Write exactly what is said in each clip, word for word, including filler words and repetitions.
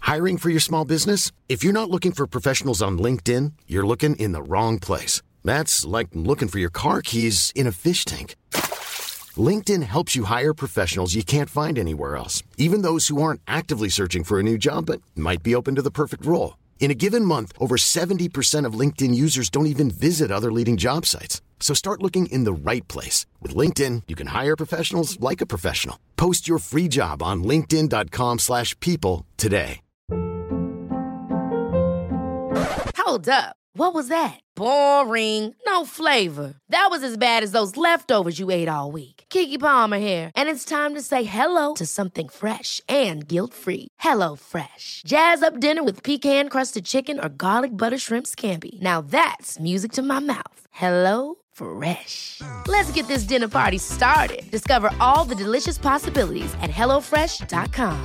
Hiring for your small business? If you're not looking for professionals on LinkedIn, you're looking in the wrong place. That's like looking for your car keys in a fish tank. LinkedIn helps you hire professionals you can't find anywhere else, even those who aren't actively searching for a new job but might be open to the perfect role. In a given month, over seventy percent of LinkedIn users don't even visit other leading job sites. So start looking in the right place. With LinkedIn, you can hire professionals like a professional. Post your free job on linkedin.com slash people today. Hold up. What was that? Boring. No flavor. That was as bad as those leftovers you ate all week. Keke Palmer here, and it's time to say hello to something fresh and guilt-free. Hello Fresh. Jazz up dinner with pecan-crusted chicken or garlic butter shrimp scampi. Now that's music to my mouth. Hello Fresh. Let's get this dinner party started. Discover all the delicious possibilities at hello fresh dot com.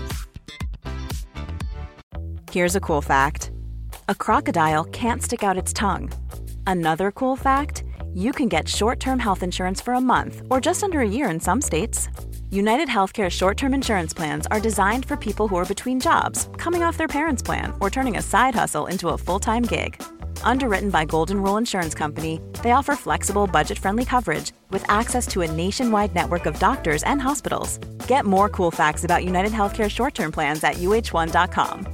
Here's a cool fact. A crocodile can't stick out its tongue. Another cool fact, you can get short-term health insurance for a month or just under a year in some states. United Healthcare short-term insurance plans are designed for people who are between jobs, coming off their parents' plan, or turning a side hustle into a full-time gig. Underwritten by Golden Rule Insurance Company, they offer flexible, budget-friendly coverage with access to a nationwide network of doctors and hospitals. Get more cool facts about United Healthcare short-term plans at U H one dot com.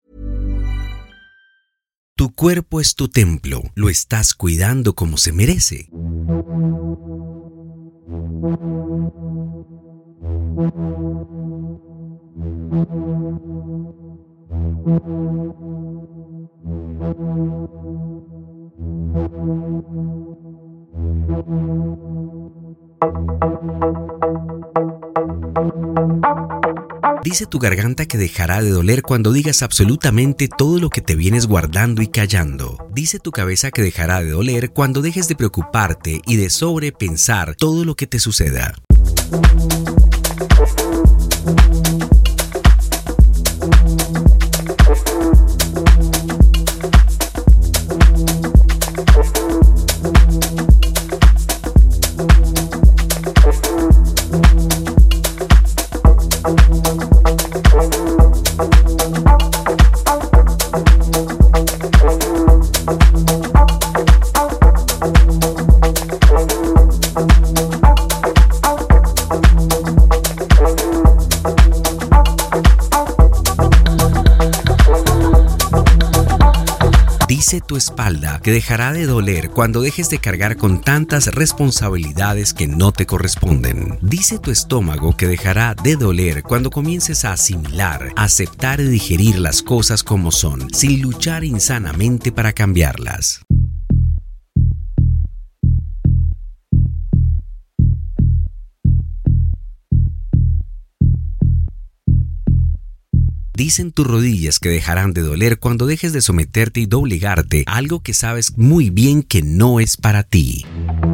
Tu cuerpo es tu templo. ¿Lo estás cuidando como se merece? Dice tu garganta que dejará de doler cuando digas absolutamente todo lo que te vienes guardando y callando. Dice tu cabeza que dejará de doler cuando dejes de preocuparte y de sobrepensar todo lo que te suceda. Dice tu espalda que dejará de doler cuando dejes de cargar con tantas responsabilidades que no te corresponden. Dice tu estómago que dejará de doler cuando comiences a asimilar, aceptar y digerir las cosas como son, sin luchar insanamente para cambiarlas. Dicen tus rodillas que dejarán de doler cuando dejes de someterte y doblegarte a algo que sabes muy bien que no es para ti.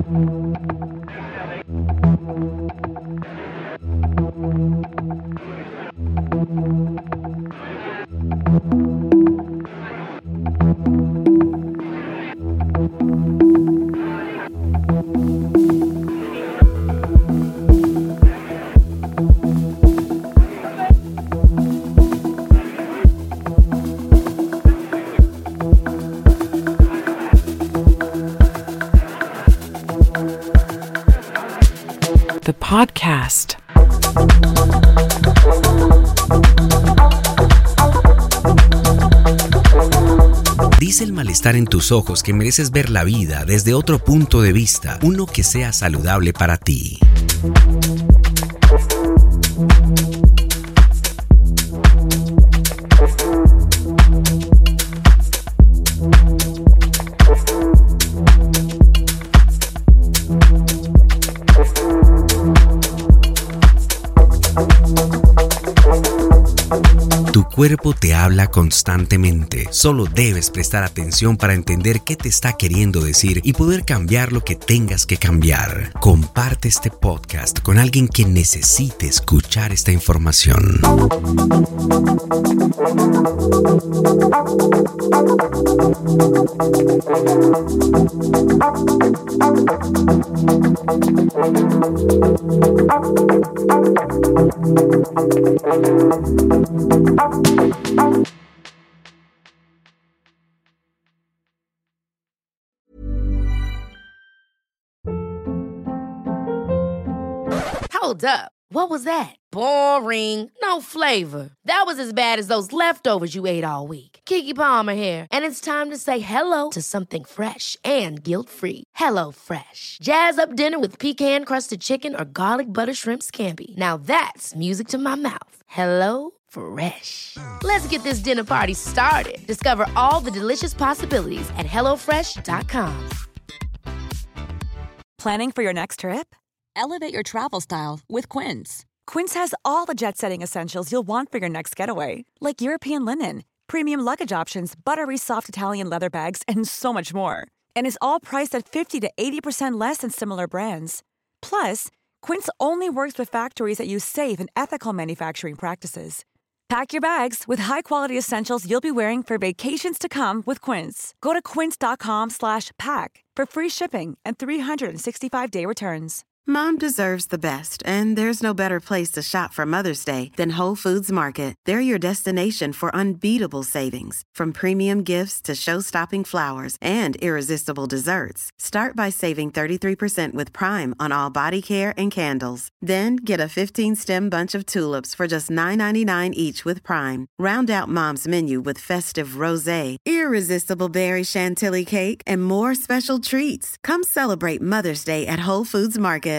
The podcast. Dice el malestar en tus ojos que mereces ver la vida desde otro punto de vista, uno que sea saludable para ti. Tu cuerpo te habla constantemente. Solo debes prestar atención para entender qué te está queriendo decir y poder cambiar lo que tengas que cambiar. Comparte este podcast con alguien que necesite escuchar esta información. Hold up. What was that? Boring. No flavor. That was as bad as those leftovers you ate all week. Keke Palmer here, and it's time to say hello to something fresh and guilt-free. Hello Fresh. Jazz up dinner with pecan-crusted chicken or garlic butter shrimp scampi. Now that's music to my mouth. Hello Fresh. Let's get this dinner party started. Discover all the delicious possibilities at hello fresh dot com. Planning for your next trip? Elevate your travel style with Quince. Quince has all the jet-setting essentials you'll want for your next getaway, like European linen, premium luggage options, buttery soft Italian leather bags, and so much more. And is all priced at fifty to eighty percent less than similar brands. Plus, Quince only works with factories that use safe and ethical manufacturing practices. Pack your bags with high-quality essentials you'll be wearing for vacations to come with Quince. Go to quince.com slash pack for free shipping and three sixty-five day returns. Mom deserves the best, and there's no better place to shop for Mother's Day than Whole Foods Market. They're your destination for unbeatable savings, from premium gifts to show-stopping flowers and irresistible desserts. Start by saving thirty-three percent with Prime on all body care and candles. Then get a fifteen-stem bunch of tulips for just nine ninety-nine each with Prime. Round out Mom's menu with festive rosé, irresistible berry chantilly cake, and more special treats. Come celebrate Mother's Day at Whole Foods Market